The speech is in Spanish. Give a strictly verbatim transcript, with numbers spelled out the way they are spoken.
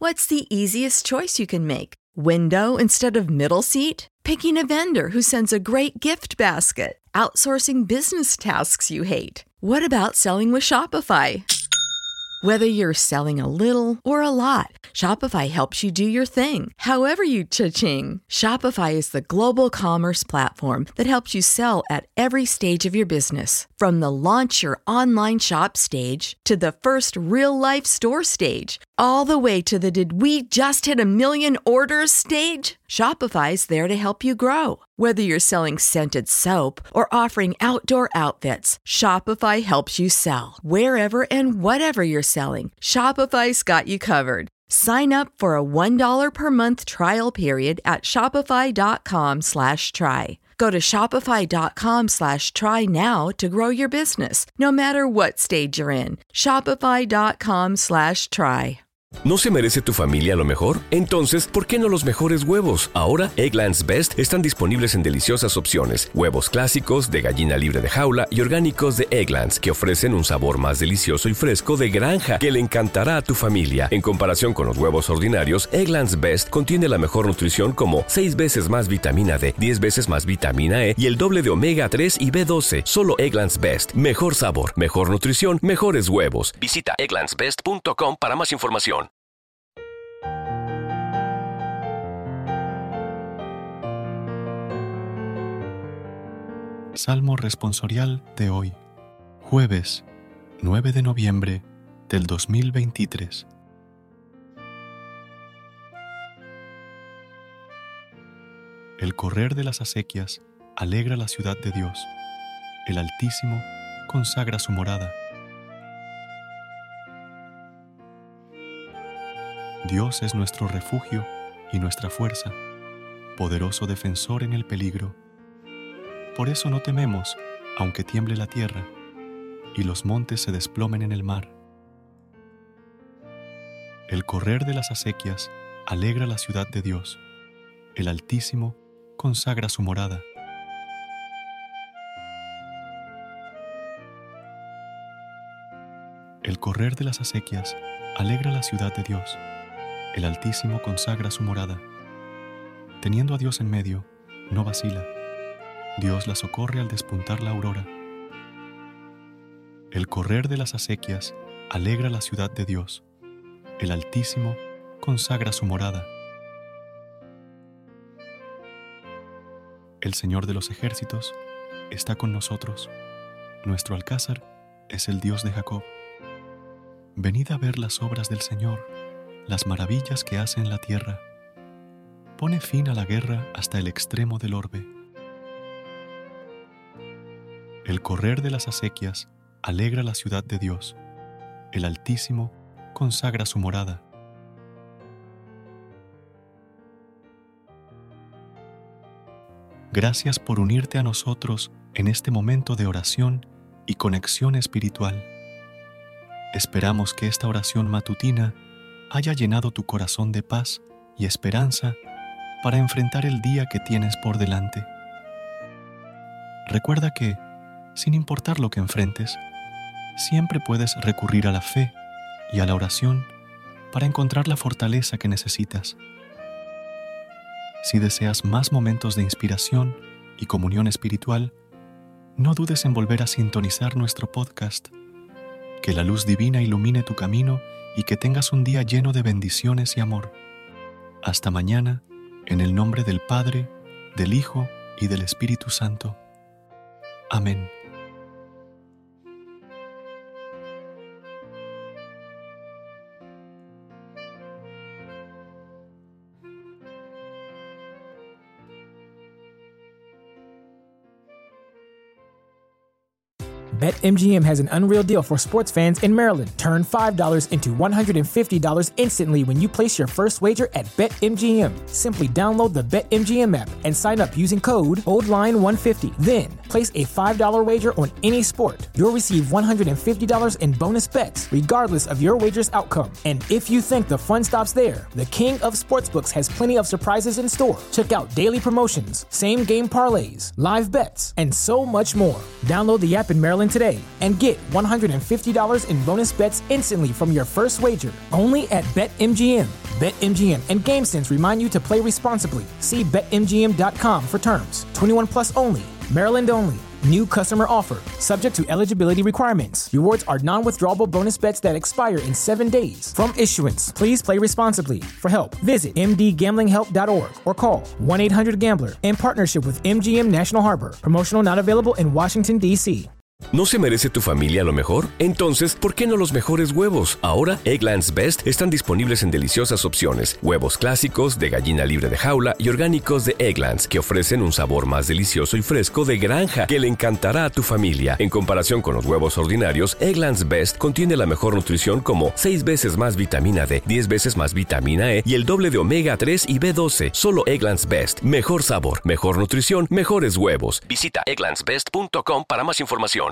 What's the easiest choice you can make? Window instead of middle seat? Picking a vendor who sends a great gift basket? Outsourcing business tasks you hate? What about selling with Shopify? Whether you're selling a little or a lot, Shopify helps you do your thing, however you cha-ching. Shopify is the global commerce platform that helps you sell at every stage of your business. From the launch your online shop stage to the first real-life store stage, all the way to the did we just hit a million orders stage. Shopify's there to help you grow. Whether you're selling scented soap or offering outdoor outfits, Shopify helps you sell. Wherever and whatever you're selling, Shopify's got you covered. Sign up for a one dollar per month trial period at shopify.com slash try. Go to shopify.com slash try now to grow your business, no matter what stage you're in. Shopify.com slash try. ¿No se merece tu familia lo mejor? Entonces, ¿por qué no los mejores huevos? Ahora, Eggland's Best están disponibles en deliciosas opciones. Huevos clásicos, de gallina libre de jaula y orgánicos de Eggland's, que ofrecen un sabor más delicioso y fresco de granja que le encantará a tu familia. En comparación con los huevos ordinarios, Eggland's Best contiene la mejor nutrición como seis veces más vitamina D, diez veces más vitamina E y el doble de omega tres y B doce. Solo Eggland's Best. Mejor sabor, mejor nutrición, mejores huevos. Visita egglands best punto com para más información. Salmo responsorial de hoy, jueves nueve de noviembre del dos mil veintitrés. El correr de las acequias alegra la ciudad de Dios. El Altísimo consagra su morada. Dios es nuestro refugio y nuestra fuerza, poderoso defensor en el peligro. Por eso no tememos, aunque tiemble la tierra y los montes se desplomen en el mar. El correr de las acequias alegra la ciudad de Dios. El Altísimo consagra su morada. El correr de las acequias alegra la ciudad de Dios. El Altísimo consagra su morada. Teniendo a Dios en medio, no vacila. Dios la socorre al despuntar la aurora. El correr de las acequias alegra la ciudad de Dios. El Altísimo consagra su morada. El Señor de los ejércitos está con nosotros. Nuestro alcázar es el Dios de Jacob. Venid a ver las obras del Señor, las maravillas que hace en la tierra. Pone fin a la guerra hasta el extremo del orbe. El correr de las acequias alegra la ciudad de Dios. El Altísimo consagra su morada. Gracias por unirte a nosotros en este momento de oración y conexión espiritual. Esperamos que esta oración matutina haya llenado tu corazón de paz y esperanza para enfrentar el día que tienes por delante. Recuerda que, sin importar lo que enfrentes, siempre puedes recurrir a la fe y a la oración para encontrar la fortaleza que necesitas. Si deseas más momentos de inspiración y comunión espiritual, no dudes en volver a sintonizar nuestro podcast. Que la luz divina ilumine tu camino y que tengas un día lleno de bendiciones y amor. Hasta mañana, en el nombre del Padre, del Hijo y del Espíritu Santo. Amén. BetMGM has an unreal deal for sports fans in Maryland. Turn five dollars into one hundred fifty dollars instantly when you place your first wager at BetMGM. Simply download the BetMGM app and sign up using code old line one fifty. Then, place a five dollars wager on any sport. You'll receive one hundred fifty dollars in bonus bets, regardless of your wager's outcome. And if you think the fun stops there, the King of Sportsbooks has plenty of surprises in store. Check out daily promotions, same-game parlays, live bets, and so much more. Download the app in Maryland today and get one hundred fifty dollars in bonus bets instantly from your first wager. Only at BetMGM. BetMGM and GameSense remind you to play responsibly. See Bet M G M dot com for terms. twenty-one plus only. Maryland only. New customer offer. Subject to eligibility requirements. Rewards are non-withdrawable bonus bets that expire in seven days. From issuance, please play responsibly. For help, visit m d gambling help dot org or call one eight hundred gambler in partnership with M G M National Harbor. Promotional not available in Washington, D C ¿No se merece tu familia lo mejor? Entonces, ¿por qué no los mejores huevos? Ahora, Eggland's Best están disponibles en deliciosas opciones. Huevos clásicos, de gallina libre de jaula y orgánicos de Eggland's, que ofrecen un sabor más delicioso y fresco de granja que le encantará a tu familia. En comparación con los huevos ordinarios, Eggland's Best contiene la mejor nutrición como seis veces más vitamina D, diez veces más vitamina E y el doble de omega tres y B doce. Solo Eggland's Best. Mejor sabor, mejor nutrición, mejores huevos. Visita egglands best punto com para más información.